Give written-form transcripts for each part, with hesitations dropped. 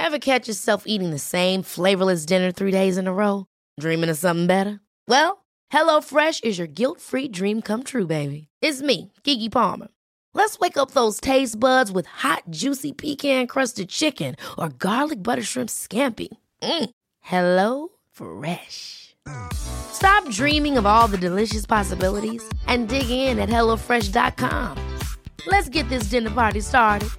Ever catch yourself eating the same flavorless dinner 3 days in a row? Dreaming of something better? Well, HelloFresh is your guilt-free dream come true, baby. It's me, Keke Palmer. Let's wake up those taste buds with hot, juicy pecan-crusted chicken or garlic butter shrimp scampi. Hello Fresh. Stop dreaming of all the delicious possibilities and dig in at HelloFresh.com. Let's get this dinner party started.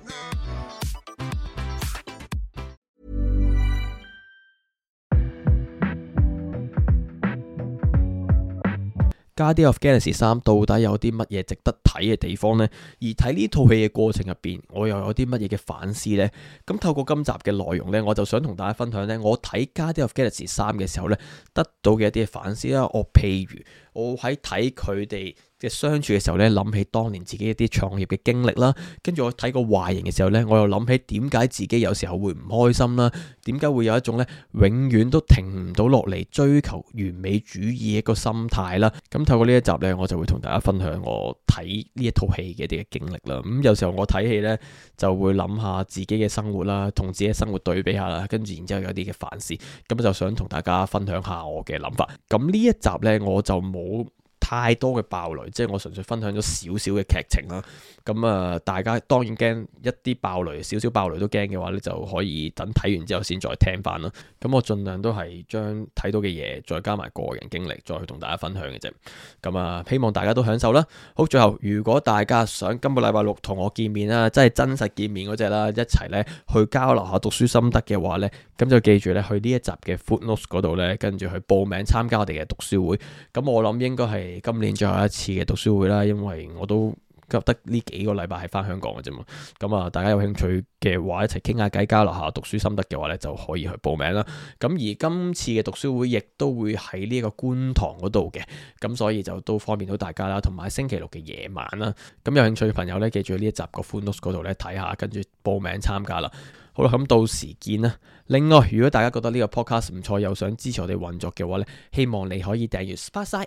Guardians of Galaxy 3到底有啲乜嘢值得睇嘅地方呢？而睇呢套戲嘅過程入邊，我又有啲乜嘢嘅反思呢？咁透過今集嘅內容呢，我就想同大家分享呢，我睇 Guardians of Galaxy 3嘅時候呢，得到嘅一啲嘅反思啦。譬如我喺睇佢哋嘅相處嘅時候呢，諗起當年自己一啲創業嘅經歷啦，跟住我睇個外形嘅時候呢，我又諗起點解自己有時候會唔開心啦，點解會有一種呢永遠都停唔到落嚟追求完美主義一個心態啦。咁透過呢一集呢，我就會同大家分享我睇呢一套戲嘅一啲嘅經歷啦。咁有時候我睇戲呢，就會諗下自己嘅生活啦，同自己嘅生活對比下啦，跟住然之後有啲嘅反思，咁就想同大家分享下我嘅諗法。咁呢一集呢，我就冇太多嘅爆雷，即係我純粹分享咗少少嘅劇情啦。咁大家當然驚一啲爆雷，少少爆雷都驚嘅話咧，就可以等睇完之後先再聽翻啦。咁我盡量都係將睇到嘅嘢再加埋個人經歷，再去同大家分享嘅啫。咁希望大家都享受啦。好，最後如果大家想今個禮拜六同我見面啦，即係真實見面嗰隻啦，一齊咧去交流下讀書心得嘅話咧，咁就記住咧去呢一集嘅 Footnotes 嗰度咧，跟住去報名參加我哋嘅讀書會。咁我諗應該係今年最後一次嘅讀書會啦，因為我都得呢幾個禮拜係翻香港嘅啫嘛。咁大家有興趣嘅話，一齊傾下偈，交流下讀書心得嘅話咧，就可以去報名啦。咁而今次嘅讀書會亦都會喺呢個觀塘嗰度嘅，咁所以就都方便到大家啦。同埋星期六嘅夜晚啦，咁有興趣嘅朋友咧，記住呢一集個 Footnotes 嗰度咧睇下，跟住報名參加啦。好啦，咁到時見啦。另外，如果大家覺得呢個 podcast 唔錯，又想支持我哋運作嘅話咧，希望你可以訂閱 Sparkside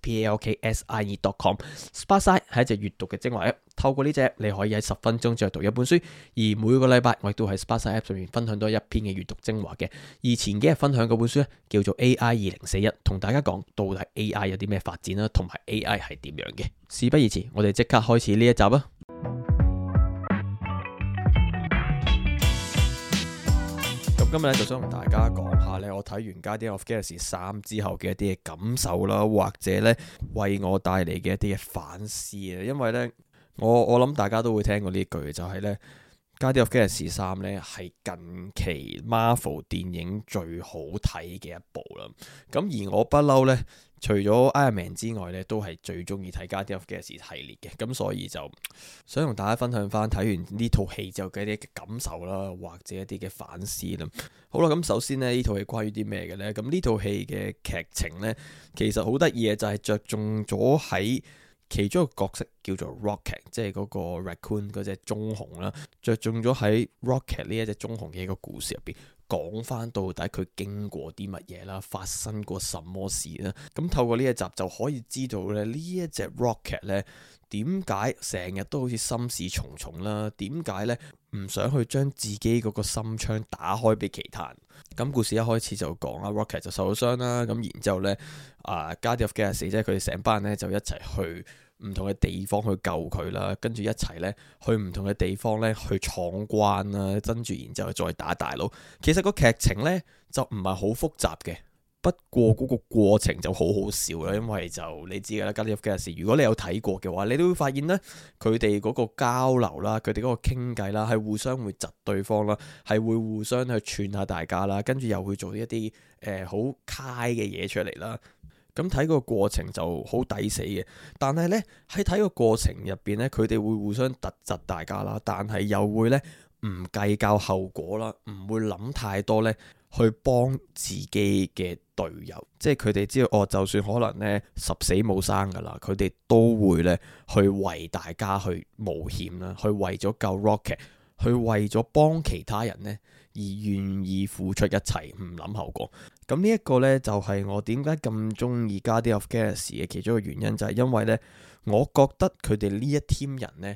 spalksie.com。Sparkside 係一隻閱讀嘅精華 app， 透過呢隻你可以喺10分鐘就讀一本書。而每個禮拜我亦都喺 Sparkside app 上面分享多一篇嘅閱讀精華嘅。而前幾日分享嗰本書咧叫做 AI 2041，同大家講到底 AI 有啲咩發展啦，同埋 AI 係點樣嘅。事不宜遲，我哋即刻開始呢一集啊！今日咧就想同大家講下咧，我睇完《Guardians of Galaxy 3》之後嘅一啲嘅感受啦，或者咧為我帶嚟嘅一啲嘅反思啊。因為咧，我諗大家都會聽過呢句，就係咧《Guardians of Galaxy 3》咧係近期 Marvel 電影最好睇嘅一部啦。咁而我不嬲咧，除咗 Iron Man 之外咧，都係最中意睇 Guardians of Galaxy 系列嘅，咁所以就想同大家分享翻睇完呢套戲之後嘅一啲嘅感受啦，或者一啲嘅反思啦。好啦，咁首先呢套戲關於啲咩嘅呢？咁呢套戲嘅劇情呢，其實好得意嘅就係着重咗喺其中一個角色叫做 Rocket， 即係嗰個 Raccoon 嗰隻棕熊啦，着重咗喺 Rocket 呢一隻棕熊嘅一個故事入邊，講翻到底佢經過啲乜嘢啦，發生過什麼事啦。咁透過呢一集就可以知道咧，呢一隻 Rocket 咧點解成日都好似心事重重啦？點解咧唔想去將自己嗰個心窗打開俾其他人？咁故事一開始就講啦 Rocket 就受咗傷啦，咁然之後咧Guardians of Galaxy 即係佢哋成班人咧就一齊去唔同嘅地方去救佢啦，跟住一齊咧去唔同嘅地方咧去闖關啦，跟住然之後再打大佬。其實個劇情咧就唔係好複雜嘅，不過嗰個過程就好好笑啦，因為就你知㗎啦，Guardians of Galaxy如果你有睇過嘅話，你都會發現咧佢哋嗰個交流啦，佢哋嗰個傾偈啦，係互相會窒對方啦，係會互相去串下大家啦，跟住又會做一啲好 high 嘅嘢出嚟啦。咁睇個過程就好抵死嘅，但係呢，喺睇個過程入邊呢，佢哋會互相突窒大家啦，但係又會呢唔計較後果啦，唔會諗太多呢去幫自己嘅隊友，即係佢哋知道就算可能呢十死冇生噶啦，佢哋都會呢去為大家去冒險啦，去為咗救 Rocket， 去為咗幫其他人呢而願意付出一切，唔諗後果。咁呢一個呢，就係我點解咁中意 Guardians of Galaxy 嘅其中一個原因，就係因為呢，我覺得佢哋呢一 team 人呢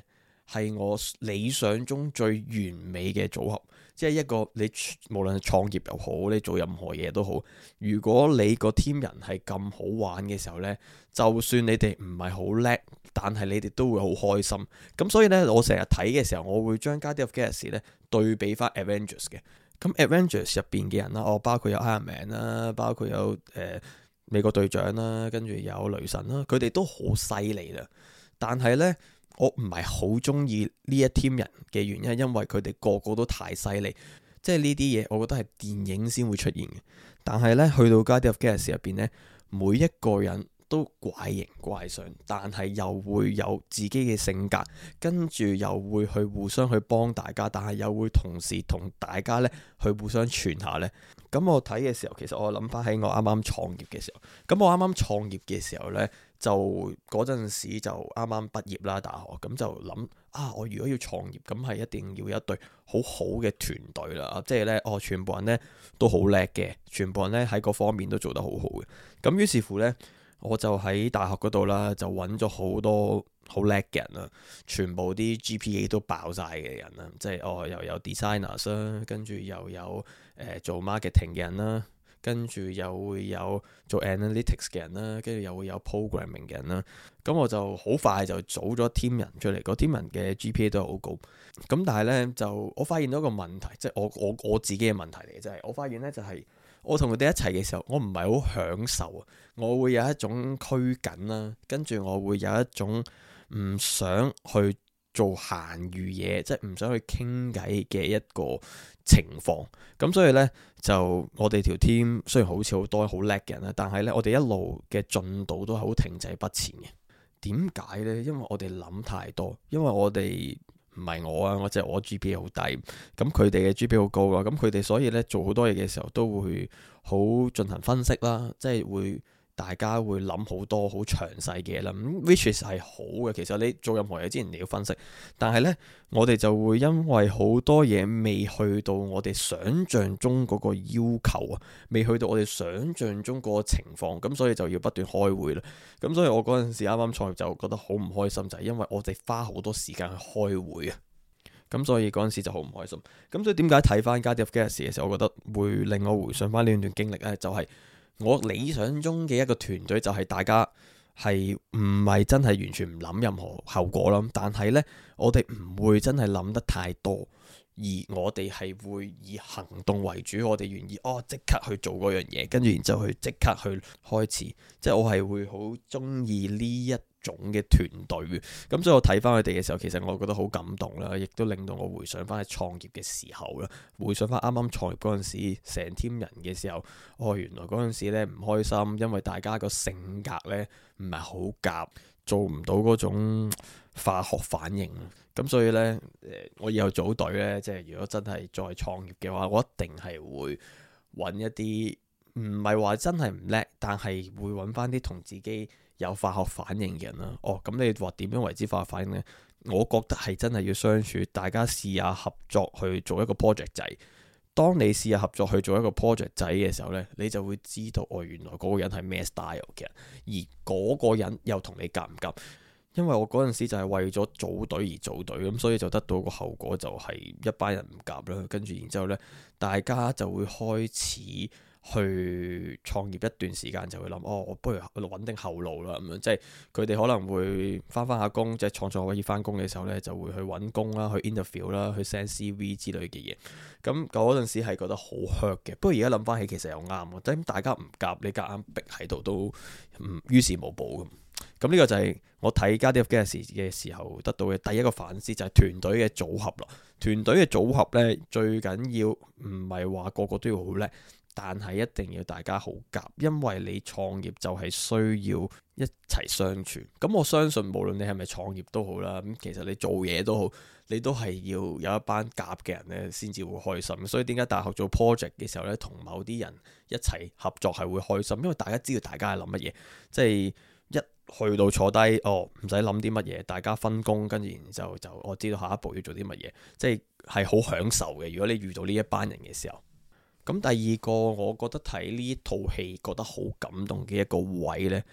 係我理想中最完美嘅組合。即係一個你無論係創業又好，你做任何嘢都好，如果你個 team 人係咁好玩嘅時候呢，就算你哋唔係好叻，但係你哋都會好開心。咁所以呢，我成日睇嘅時候，我會將 Guardians of the Galaxy 呢對比翻 Avengers 嘅。咁 Avengers 入邊嘅人啦，包括有 Iron Man 啦，包括有美國隊長啦，跟住有雷神啦，佢哋都好犀利啦。但係呢，我唔係好中意呢一 team 人嘅原因，因為佢哋個個都太犀利，即係呢啲嘢，我覺得係電影先會出現嘅。但係呢，去到 Guardians of the Galaxy 入邊呢，每一個人都怪形怪相，但係又會有自己嘅性格，跟住又會去互相去幫大家，但係又會同時同大家呢去互相傳下呢。咁我睇嘅時候，其實我諗翻喺我啱啱創業嘅時候，咁我啱啱創業嘅時候呢，就嗰陣時就啱啱畢業啦，大學，咁就諗我如果要創業，咁係一定要有一隊好好嘅團隊啦，即係呢，全部人呢都好叻嘅，全部人呢喺各方面都做得好好嘅。咁於是乎呢，我就喺大學嗰度啦，就揾咗好多好叻嘅人啦，全部啲 GPA 都爆晒嘅人啦，即係又有 designers 啦，跟住又有做 marketing 嘅人啦，跟住又會有做 analytics 嘅人啦，跟住又會有 programming 嘅人啦。咁我就好快就組咗 team 人出嚟，個 team 人嘅 GPA 都係好高。咁但係呢，就我發現到一個問題，即係我自己嘅問題嚟嘅，就係我發現呢，就係我同佢哋一齊嘅時候，我唔係好享受啊，我會有一種拘謹啦，跟住我會有一種唔想去做閒餘嘢，即係唔想去傾偈嘅一個情況。咁所以呢，就我哋條 team 雖然好似好多好叻嘅人啦，但係呢，我哋一路嘅進度都係好停滯不前嘅。點解呢？因為我哋諗太多，因為我哋唔係我啊，我GPA 好低，咁佢哋嘅 GPA 好高啊，咁佢哋所以呢，做好多嘢嘅時候都會好進行分析啦，即係會。大家會諗好多好詳細嘅嘢啦，which is 係好嘅。其實你做任何嘢之前你要分析，但係呢，我哋就會因為好多嘢未去到我哋想像中嗰個要求啊，未去到我哋想像中嗰個情況，咁所以就要不斷開會啦。咁所以我嗰陣時啱啱創業就覺得好唔開心，就係因為我哋花好多時間去開會啊。咁所以嗰陣時就好唔開心。咁所以點解睇翻 Guardians of the Galaxy 嘅時候，我覺得會令我回想翻呢段經歷呢？就係我理想中嘅一個團隊就係大家係唔係真係完全唔諗任何後果啦，但係呢，我哋唔會真係諗得太多，而我哋係會以行動為主，我哋願意即刻去做嗰樣嘢，跟住然之後去即刻去開始，即係我係會好中意呢一種嘅團隊。咁所以我睇翻佢哋嘅時候，其實我覺得好感動啦，亦都令到我回想翻喺創業嘅時候啦，回想翻啱啱創業嗰陣時，成 team 人嘅時候，原來嗰陣時咧唔開心，因為大家個性格咧唔係好夾，做唔到嗰種化學反應。咁所以呢，我以後組隊呢，即係如果真係再創業嘅話，我一定係會揾一啲唔係話真係唔叻，但係會揾翻啲同自己有化學反應嘅人啦。咁你話點樣為之化學反應呢？我覺得係真係要相處，大家試下合作去做一個 project 仔。當你試下合作去做一個 project 仔嘅時候呢，你就會知道原來嗰個人係咩 style 嘅人，而嗰個人又同你夾唔夾。因為我嗰陣時就係為咗組隊而組隊，咁所以就得到個後果就係一班人唔夾啦。跟住然之後呢，大家就會開始去創業一段時間，就會諗我不如穩定後路啦。咁樣即係佢哋可能會翻下工，即係創作可以翻工嘅時候呢，就會去揾工啦，去 interview 啦，去 send CV 之類嘅嘢。咁嗰陣時係覺得好 hurt 嘅。不過而家諗翻起，其實又啱，即係大家唔夾，你夾硬逼喺度都於事無補咁。咁呢個就係我睇 Guardians of the Galaxy 嘅時候得到嘅第一個反思，就係團隊嘅組合啦。團隊嘅組合呢，最緊要唔係話個個都要好叻，但係一定要大家好夾，因為你創業就係需要一齊相處。咁我相信無論你係咪創業都好啦，咁其實你做嘢都好，你都係要有一班夾嘅人呢先至會開心。所以點解大學做 project 嘅時候呢，同某啲人一齊合作係會開心，因為大家知道大家係諗乜嘢，即係一去到坐低，唔使諗啲乜嘢，大家分工，跟住然之後就我知道下一步要做啲乜嘢，即係好享受嘅。如果你遇到呢一班人嘅時候，咁第二個我覺得睇呢套戲覺得好感動嘅一個位呢，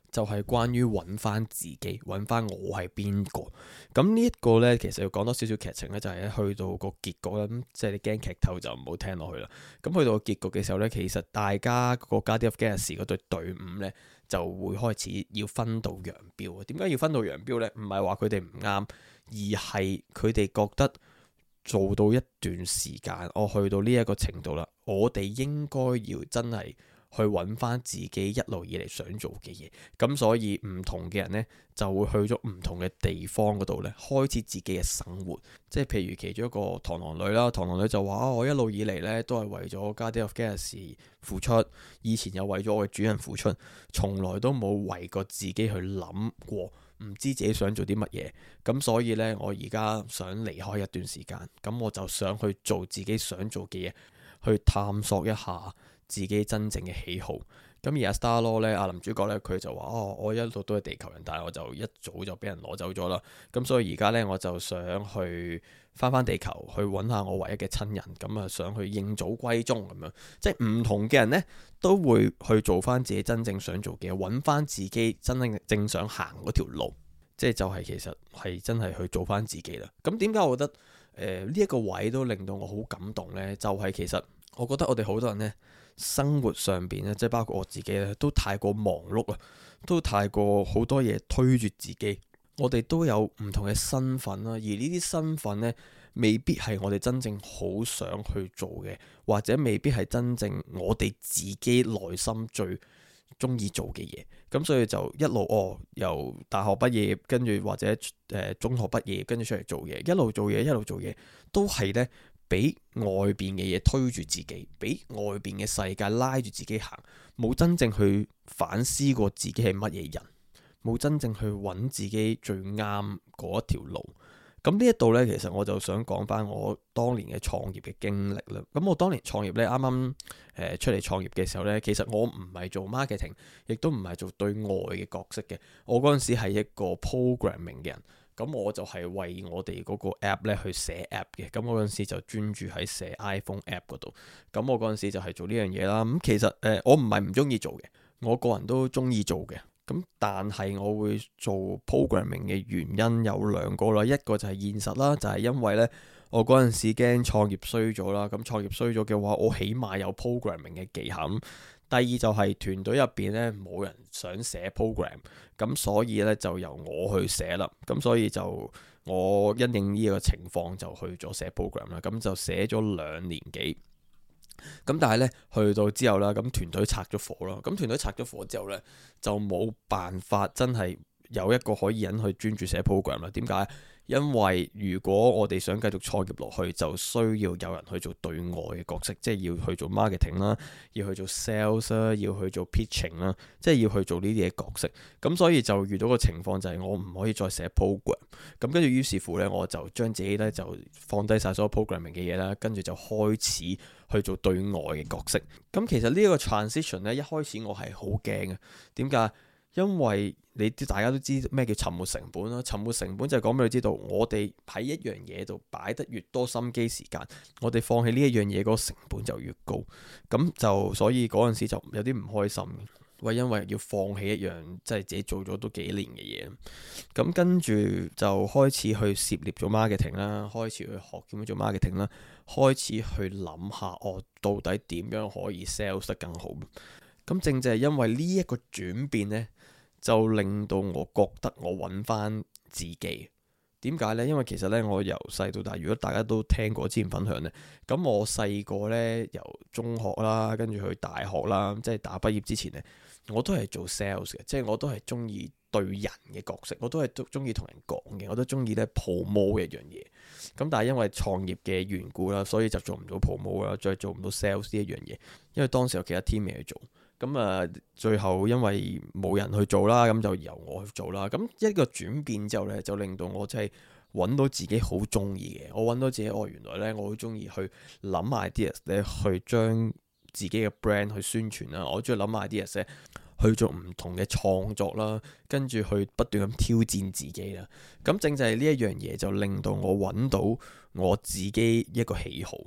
就係關於揾翻自己，揾翻我係邊個。咁呢一個呢，其實要講多少少劇情呢，就係去到個結局啦。咁即係你驚劇透就唔好聽落去啦。咁去到個結局嘅時候呢，其實大家個 Guardians of Galaxy 嗰隊隊伍呢，就會開始要分道揚鑣。點解要分道揚鑣呢？唔係話佢哋唔啱，而係佢哋覺得做到一段時間，我去到呢一個程度啦，我哋應該要真係去揾翻自己一路以嚟想做嘅嘢，咁所以唔同嘅人呢，就會去咗唔同嘅地方嗰度呢，開始自己嘅生活。即係譬如其中一個螳螂女啦，螳螂女就話我一路以嚟呢，都係為咗 Guardians of Galaxy 付出，以前又為咗我嘅主人付出，從來都冇為過自己去諗過，唔知自己想做啲乜嘢。咁所以呢，我而家想離開一段時間，咁我就想去做自己想做嘅嘢，去探索一下自己真正嘅喜好。咁而阿 Star-Lord 咧，阿男主角咧，佢就話我一路都係地球人，但係我就一早就俾人攞走咗啦。咁所以而家咧，我就想去翻地球，去揾下我唯一嘅親人。咁啊，想去認祖歸宗咁樣。即係唔同嘅人呢，都會去做翻自己真正想做嘅嘢，揾翻自己真正正想行嗰條路。即係就係其實係真係去做翻自己啦。咁點解我覺得呢一個位都令到我好感動呢？就係其實我覺得我哋好多人呢，生活上邊咧，即係包括我自己咧，都太過忙碌啊，都太過好多嘢推住自己。我哋都有唔同嘅身份啦，而呢啲身份呢，未必係我哋真正好想去做嘅，或者未必係真正我哋自己內心最中意做嘅嘢。咁所以就一路由大學畢業，跟住或者中學畢業，跟住出嚟做嘢，一路做嘢，一路做嘢，都係呢，俾外邊嘅嘢推住自己，俾外邊嘅世界拉住自己行，冇真正去反思過自己係乜嘢人，冇真正去揾自己最啱嗰一條路。咁呢一度呢，其實我就想講翻我當年嘅創業嘅經歷啦。咁我當年創業呢，啱啱出嚟創業嘅時候呢，其實我唔係做 marketing，亦都唔係做對外嘅角色嘅。我嗰陣時係一個 programming 嘅人。咁我就係為我哋嗰個 app 咧去寫 app 嘅。咁我嗰陣時就專注喺寫 iPhone app 嗰度。咁我嗰陣時就係做呢樣嘢啦。咁其實我唔係唔中意做嘅，我個人都中意做嘅。咁但係我會做 programming 嘅原因有兩個啦。一個就係現實啦，就係因為呢，我嗰陣時驚創業衰咗啦。咁創業衰咗嘅話，我起碼有 programming 嘅技巧。第二就係團隊入邊呢，冇人想寫 program，咁所以呢，就由我去寫啦。咁所以就我因應呢個情況就去咗寫 program 啦。咁就寫咗2年幾。咁但係呢，去到之後啦，咁團隊拆咗夥啦。咁團隊拆咗夥之後呢，就冇辦法真係有一個可以人去專注寫 program 啦。點解？因為如果我哋想繼續創業落去，就需要有人去做對外嘅角色，即係要去做 marketing 啦，要去做 sales 啦，要去做 pitching 啦，即係要去做呢啲嘅角色。咁所以就遇到個情況就係我唔可以再寫 program。咁跟住於是乎呢，我就將自己呢就放低晒所有 programming 嘅嘢啦，跟住就開始去做對外嘅角色。咁其實呢一個 transition 呢，一開始我係好驚嘅。點解？因為大家都知咩叫沉沒成本啦。沉沒成本就係講俾你知道，我哋喺一樣嘢度擺得越多心機時間，我哋放棄呢一樣嘢嗰個成本就越高。咁就所以嗰陣時就有啲唔開心，因為要放棄一樣即係自己做咗都幾年嘅嘢。咁跟住就開始去涉獵咗 marketing 啦，開始去學點樣做 marketing 啦，開始去諗下我到底點樣可以 sales 得更好。咁正正係因為呢一個轉變呢，就令到我覺得我揾翻自己。點解呢？因為其實呢，我由細到大，如果大家都聽過之前分享呢，咁我細個呢，由中學啦，跟住去大學啦，即係大學畢業之前呢，我都係做 sales 嘅，即係我都係中意對人嘅角色，我都係中意同人講嘅，我都中意咧 promote 一樣嘢。咁但係因為創業嘅緣故啦，所以就做唔到 promote 啦，再做唔到 sales 呢一樣嘢，因為當時有其他 team 未去做。咁啊，最後因為冇人去做啦，咁就由我去做啦。咁一個轉變之後呢，就令到我真係揾到自己好中意嘅。我揾到自己，原來呢，我好中意去諗 ideas 咧，去將自己嘅 brand 去宣傳啦。我中意諗 ideas 咧，去做唔同嘅創作啦，跟住去不斷咁挑戰自己啦。咁正就係呢一樣嘢，就令到我揾到我自己一個喜好。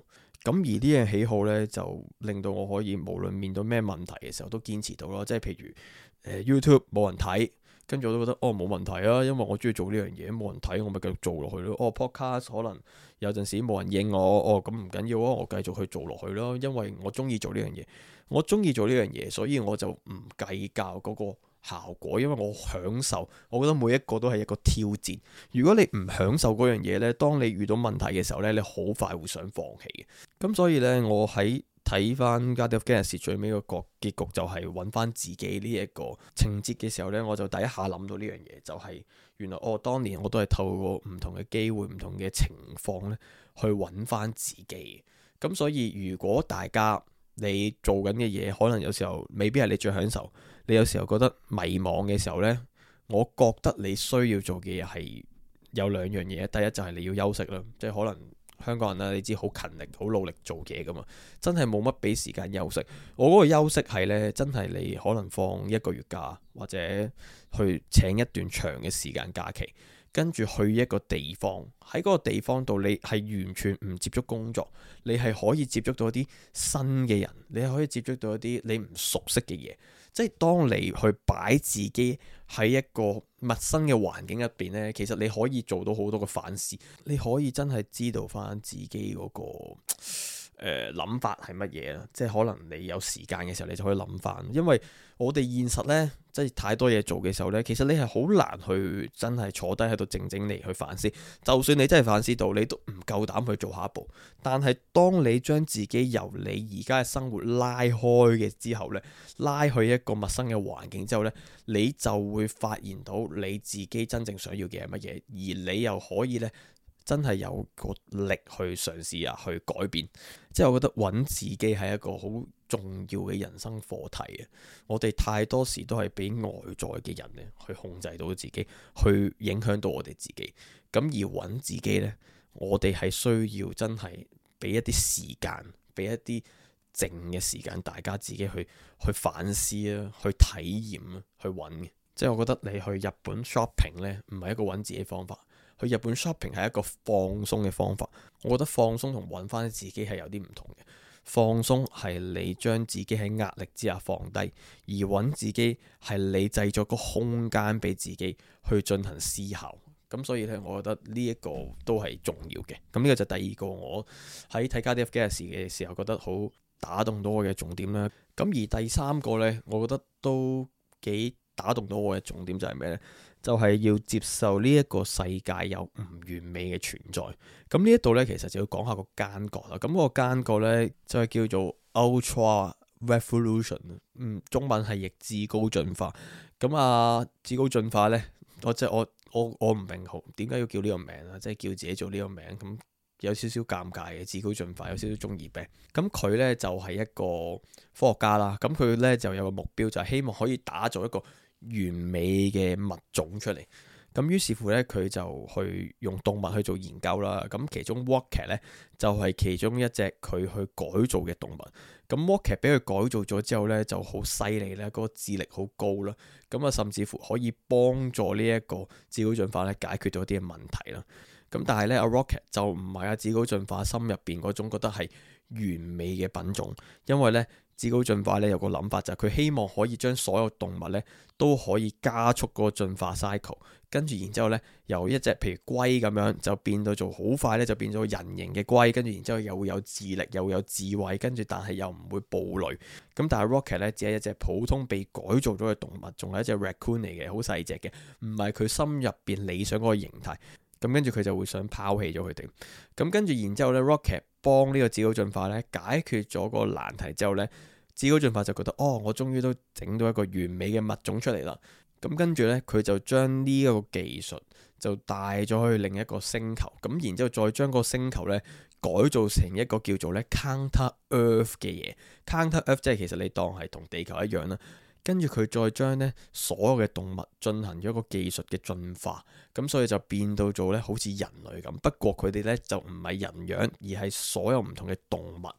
咁而呢樣喜好呢，就令到我可以無論面對咩問題嘅時候都堅持到咯。即係譬如YouTube 冇人睇，跟住我都覺得冇問題啊，因為我中意做呢樣嘢，冇人睇我咪繼續做落去咯。Podcast 可能有陣時冇人應我，咁唔緊要啊，我繼續去做落去咯，因為我中意做呢樣嘢，我中意做呢樣嘢，所以我就唔計較嗰個效果，因為我享受。我覺得每一個都係一個挑戰。如果你唔享受嗰樣嘢呢，當你遇到問題嘅時候呢，你好快會想放棄嘅。咁所以呢，我喺睇翻《Guardians of Galaxy》最尾個結局就係揾翻自己呢一個情節嘅時候呢，我就第一下諗到呢樣嘢，就係原來當年我都係透過唔同嘅機會、唔同嘅情況呢去揾翻自己。咁所以如果大家你做緊嘅嘢，可能有時候未必係你最享受，你有時候覺得迷茫嘅時候呢，我覺得你需要做嘅嘢係有兩樣嘢。第一就係你要休息啦，即係可能香港人啦，你知好勤力、好努力做嘢噶嘛，真係冇乜俾時間休息。我嗰個休息係呢，真係你可能放1個月假，或者去請一段長嘅時間假期，跟住去一個地方，喺嗰個地方度你係完全唔接觸工作，你係可以接觸到一啲新嘅人，你係可以接觸到一啲你唔熟悉嘅嘢。即係當你去擺自己喺一個陌生嘅環境入邊呢，其實你可以做到好多嘅反思，你可以真係知道翻自己嗰個諗法係乜嘢啦。即係可能你有時間嘅時候，你就可以諗翻。因為我哋現實呢，即係太多嘢做嘅時候呢，其實你係好難去真係坐低喺度靜靜嚟去反思。就算你真係反思到，你都唔夠膽去做下一步。但係當你將自己由你而家嘅生活拉開嘅之後呢，拉去一個陌生嘅環境之後呢，你就會發現到你自己真正想要嘅係乜嘢，而你又可以呢，真係有個力去嘗試啊，去改變。即係我覺得揾自己係一個好重要嘅人生課題啊！我哋太多時都係俾外在嘅人咧去控制到自己，去影響到我哋自己。咁而揾自己呢，我哋係需要真係俾一啲時間，俾一啲靜嘅時間，大家自己去反思啊，去體驗啊，去揾嘅。即係我覺得你去日本 shopping 呢，唔係一個揾自己方法。去日本 shopping 係一個放鬆嘅方法。我覺得放鬆同揾翻自己係有啲唔同嘅。放鬆係你將自己喺壓力之下放低，而揾自己係你製作個空間俾自己去進行思考。咁所以咧，我覺得呢一個都係重要嘅。咁呢個就第二個我喺睇《Guardians of Galaxy》嘅時候覺得好打動到我嘅重點啦。咁而第三個呢，我覺得都幾打動到我嘅重點就係咩呢？就係要接受呢一個世界有唔完美嘅存在。咁呢一度呢，其實就要講下個奸角啦。咁嗰個奸角呢，就係叫做 Ultra Revolution，中文係譯至高進化。咁至高進化呢，我唔明好點解要叫呢個名啊，即係叫自己做呢個名，咁有少少尷尬嘅。至高進化有少少中二病。咁佢呢，就係一個科學家啦。咁佢呢，就有個目標，就係希望可以打造一個完美嘅物種出嚟。咁於是乎呢，佢就去用動物去做研究啦。咁其中 Rocket 呢，就係其中一隻佢去改造嘅動物。咁 Rocket 俾佢改造咗之後呢，就好犀利啦，嗰個智力好高啦。咁甚至乎可以幫助呢一個至高進化咧解決到一啲嘅問題啦。咁但係呢，Rocket 就唔係至高進化心入邊嗰種覺得係完美嘅品種，因為呢，至高進化咧有個諗法，就係佢希望可以將所有動物咧都可以加速嗰個進化 cycle， 跟住然之後咧由一隻譬如龜咁樣就變到做好快咧就變咗人形嘅龜，跟住然之後又會有智力又會有智慧，跟住但係又唔會暴戾。咁但係 Rocket 咧只係一隻普通被改造咗嘅動物，仲係一隻 raccoon 嚟嘅，好細隻嘅，唔係佢心入邊理想嗰個形態。咁跟住佢就會想拋棄咗佢哋。咁跟住然之後咧 Rocket 幫呢個至高進化咧解決咗個難題之後咧，至高進化就覺得我終於都整到一個完美嘅物種出嚟啦。咁跟住咧佢就將呢一個技術就帶咗去另一個星球，咁然之後再將個星球咧改造成一個叫做咧 Counter Earth 嘅嘢。Counter Earth 即係其實你當係同地球一樣啦。跟住佢再將咧所有嘅動物進行咗一個技術嘅進化，咁所以就變到做咧好似人類咁。不過佢哋咧就唔係人樣，而係所有唔同嘅動物。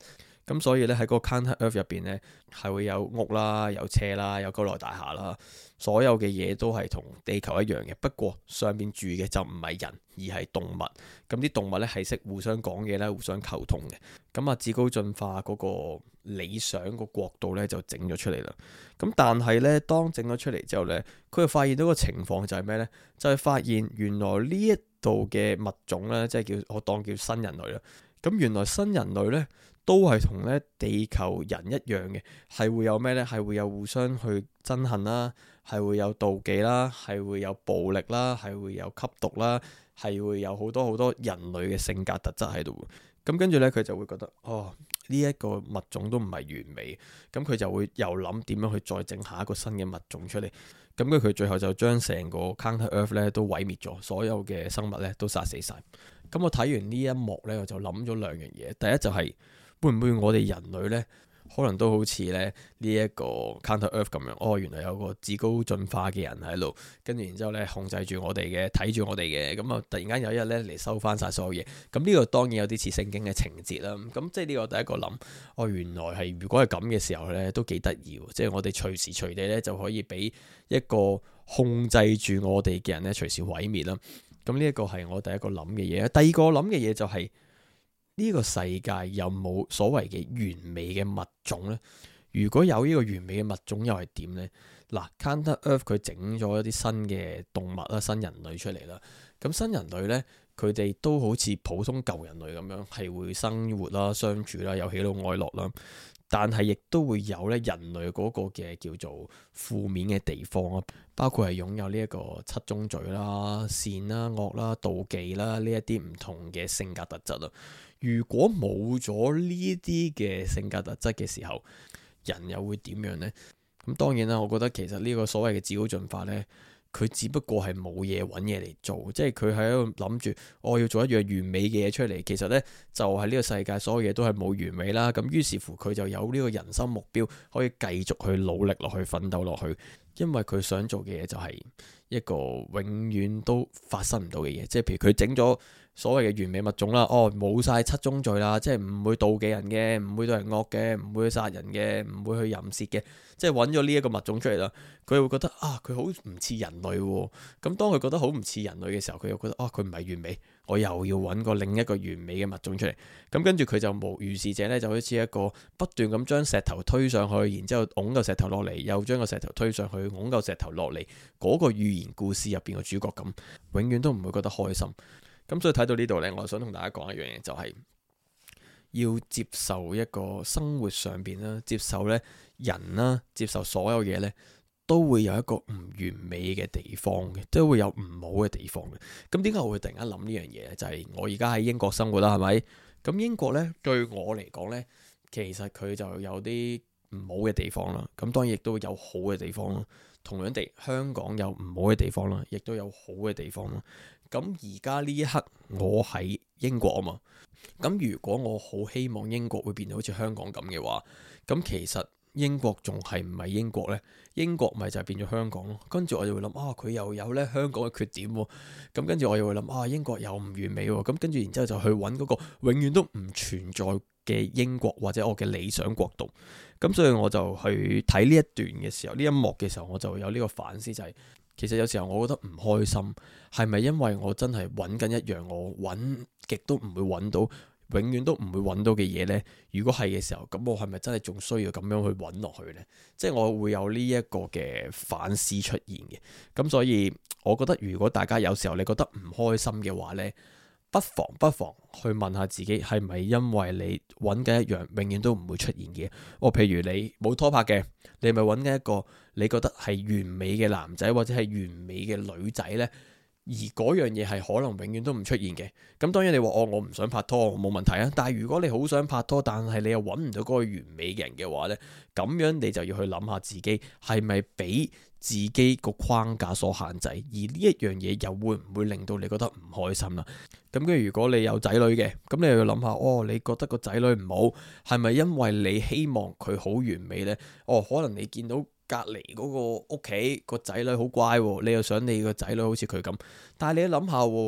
咁所以咧喺嗰個 Counter Earth 入邊咧係會有屋啦、有車啦、有高樓大廈啦，所有嘅嘢都係同地球一樣嘅。不過上邊住嘅就唔係人，而係動物。咁啲動物咧係識互相講嘢啦、互相溝通嘅。咁啊，至高進化嗰個理想個國度咧就整咗出嚟啦。咁但係咧，當整咗出嚟之後咧，佢就發現到個情況就係咩咧？就係發現原來呢一度嘅物種咧，即係我當叫新人類啦。咁原來新人類咧都係同咧地球人一樣嘅，係會有咩咧？係會有互相去憎恨啦，係會有妒忌啦，係會有暴力啦，係會有吸毒啦，係會有好多好多人類嘅性格特質喺度。咁跟住咧，佢就會覺得呢一個物種都唔係完美，咁佢就會又諗點樣去再整下一個新嘅物種出嚟。咁佢最後就將成個 Counter Earth 咧都毀滅咗，所有嘅生物咧都殺死晒。咁我睇完呢一幕咧，我就諗咗兩樣嘢。第一就係會唔會我哋人類咧，可能都好似咧呢一個 Counter Earth 咁樣，原來有個至高進化嘅人喺度，跟住然之後咧控制住我哋嘅，睇住我哋嘅，咁啊突然間有一日咧嚟收翻晒所有嘢。咁呢個當然有啲似聖經嘅情節啦。咁即係呢個第一個諗，原來係如果係咁嘅時候咧，都幾得意。即係我哋隨時隨地咧就可以俾一個控制住我哋嘅人咧隨時毀滅啦。咁呢一個係我第一個諗嘅嘢。第二個諗嘅嘢就係呢個世界有冇所謂嘅完美嘅物種呢？如果有呢個完美嘅物種又係點呢？嗱，Counter Earth 佢整咗一啲新嘅動物啦、新人類出嚟啦。咁新人類呢，佢哋都好似普通舊人類咁樣，係會生活啦、相處啦、有喜怒哀樂啦。但係亦都會有咧人類嗰個嘅叫做負面嘅地方啊，包括係擁有呢一個七宗罪啦、善啦、惡啦、妒忌啦呢一啲唔同嘅性格特質啊。如果冇咗呢啲嘅性格特質嘅時候，人又會點樣呢？咁當然啦，我覺得其實呢個所謂嘅至高進化呢，佢只不過係冇嘢揾嘢嚟做，即係佢喺度諗住我要做一樣完美嘅嘢出嚟。其實呢，就係呢個世界所有嘢都係冇完美啦。咁於是乎佢就有呢個人生目標，可以繼續去努力落去、奮鬥落去。因為佢想做嘅嘢就係一個永遠都發生唔到嘅嘢，即係譬如佢整咗所謂嘅完美物種啦，冇晒七宗罪啦，即係唔會妒忌人嘅，唔會對人惡嘅，唔會去殺人嘅，唔會去淫褻嘅，即係揾咗呢一個物種出嚟啦。佢會覺得佢好唔似人類喎。咁當佢覺得好唔似人類嘅時候，佢又覺得佢唔係完美，我又要揾個另一個完美嘅物種出嚟。咁跟住佢就如是者呢，就好似一個不斷咁將石頭推上去，然之後拱個石頭落嚟，又將個石頭推上去，拱個石頭落嚟，嗰個寓言故事入邊嘅主角咁，永遠都唔會覺得開心。咁所以睇到呢度呢，我想同大家講一樣嘢，就係要接受一個生活上邊啦，接受呢人啦，接受所有嘢呢，都會有一個唔完美嘅地方嘅，都會有唔好嘅地方嘅。咁點解我會突然間諗呢樣嘢呢？就係我而家喺英國生活啦，係咪？咁英國呢，對我嚟講呢，其實佢就有啲唔好嘅地方啦。咁當然亦都有好嘅地方啦。同樣地，香港有唔好嘅地方啦，亦都有好嘅地方啦。咁而家呢一刻我喺英國啊嘛，咁如果我好希望英國會變到好似香港咁嘅話，咁其實英國仲係唔係英國呢？英國咪就係變咗香港咯。跟住我就會諗佢又有咧香港嘅缺點喎。咁跟住我又會諗英國又唔完美喎。咁跟住然之後就去揾嗰個永遠都唔存在嘅英國或者我嘅理想國度。咁所以我就去睇呢一段嘅時候，呢一幕嘅時候，我就有呢個反思，就係其實有時候我覺得唔開心，係咪因為我真係揾緊一樣我揾極都唔會揾到，永遠都唔會揾到嘅嘢呢？如果係嘅時候，咁我係咪真係仲需要咁樣去揾落去呢？即係我會有呢一個嘅反思出現嘅。咁所以我覺得如果大家有時候你覺得唔開心嘅話呢，不妨去問下自己，係咪因為你揾緊一樣永遠都唔會出現嘅？譬如你冇拖拍嘅，你咪揾緊一個你覺得係完美嘅男仔或者係完美嘅女仔呢？而嗰樣嘢係可能永遠都唔出現嘅。咁當然你話我唔想拍拖，冇問題啊。但係如果你好想拍拖，但係你又揾唔到嗰個完美嘅人嘅話呢，咁樣你就要去諗下自己係咪俾自己個框架所限制，而呢一樣嘢又會唔會令到你覺得唔開心啦？咁跟住如果你有仔女嘅，咁你又要諗下，你覺得個仔女唔好，係咪因為你希望佢好完美呢？可能你見到隔離嗰個屋企個仔女好乖，你又想你個仔女好似佢咁，但係你諗下，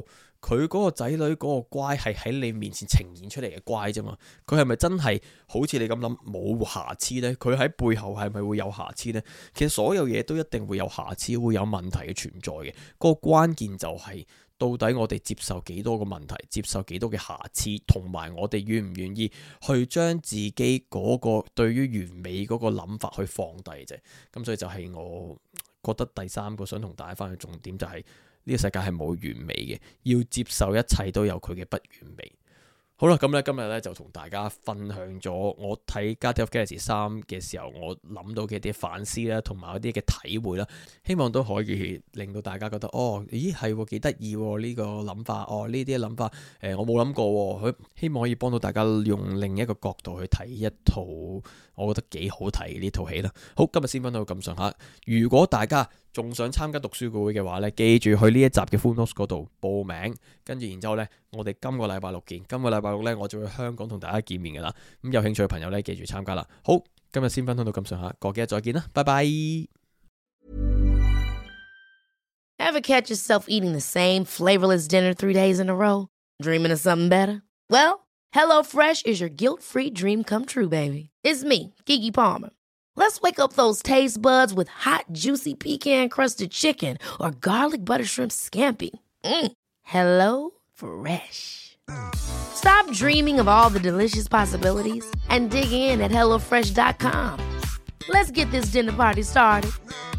佢嗰個仔女嗰個乖係喺你面前呈現出嚟嘅乖啫嘛，佢係咪真係好似你咁諗冇瑕疵呢？佢喺背後係咪會有瑕疵呢？其實所有嘢都一定會有瑕疵，會有問題嘅存在嘅。嗰個關鍵就係到底我哋接受幾多個問題，接受幾多嘅瑕疵，同埋我哋願唔願意去將自己嗰個對於完美嗰個諗法去放低啫。咁所以就係我覺得第三個想同大家翻去重點就係呢個世界係冇完美嘅，要接受一切都有佢嘅不完美。好啦，咁咧今日咧就同大家分享咗我睇《Guardians of Galaxy 3》嘅時候，我諗到嘅一啲反思啦，同埋一啲嘅體會啦，希望都可以令到大家覺得咦係幾得意呢個諗法，呢啲諗法我冇諗過，希望可以幫到大家用另一個角度去睇一套我覺得幾好睇呢套戲啦。好，今日先分享到咁上下。如果大家仲想參加讀書會嘅話咧，記住去呢一集嘅 Full Notes 嗰度報名，跟住然之後咧，我哋今個禮拜六見。今個禮拜六咧，我就會去香港同大家見面噶啦。咁有興趣嘅朋友咧，記住參加啦。好，今日先分享到咁上下，過幾日再見啦，拜拜。 Ever catch yourself eating the same flavorless dinner 3 days in a row? Dreaming of something better? Well, HelloFresh is your guilt-free dream come true, baby. It's me, Keke Palmer. Let's wake up those taste buds with hot, juicy pecan-crusted chicken or garlic butter shrimp scampi. Hello Fresh. Stop dreaming of all the delicious possibilities and dig in at HelloFresh.com. Let's get this dinner party started.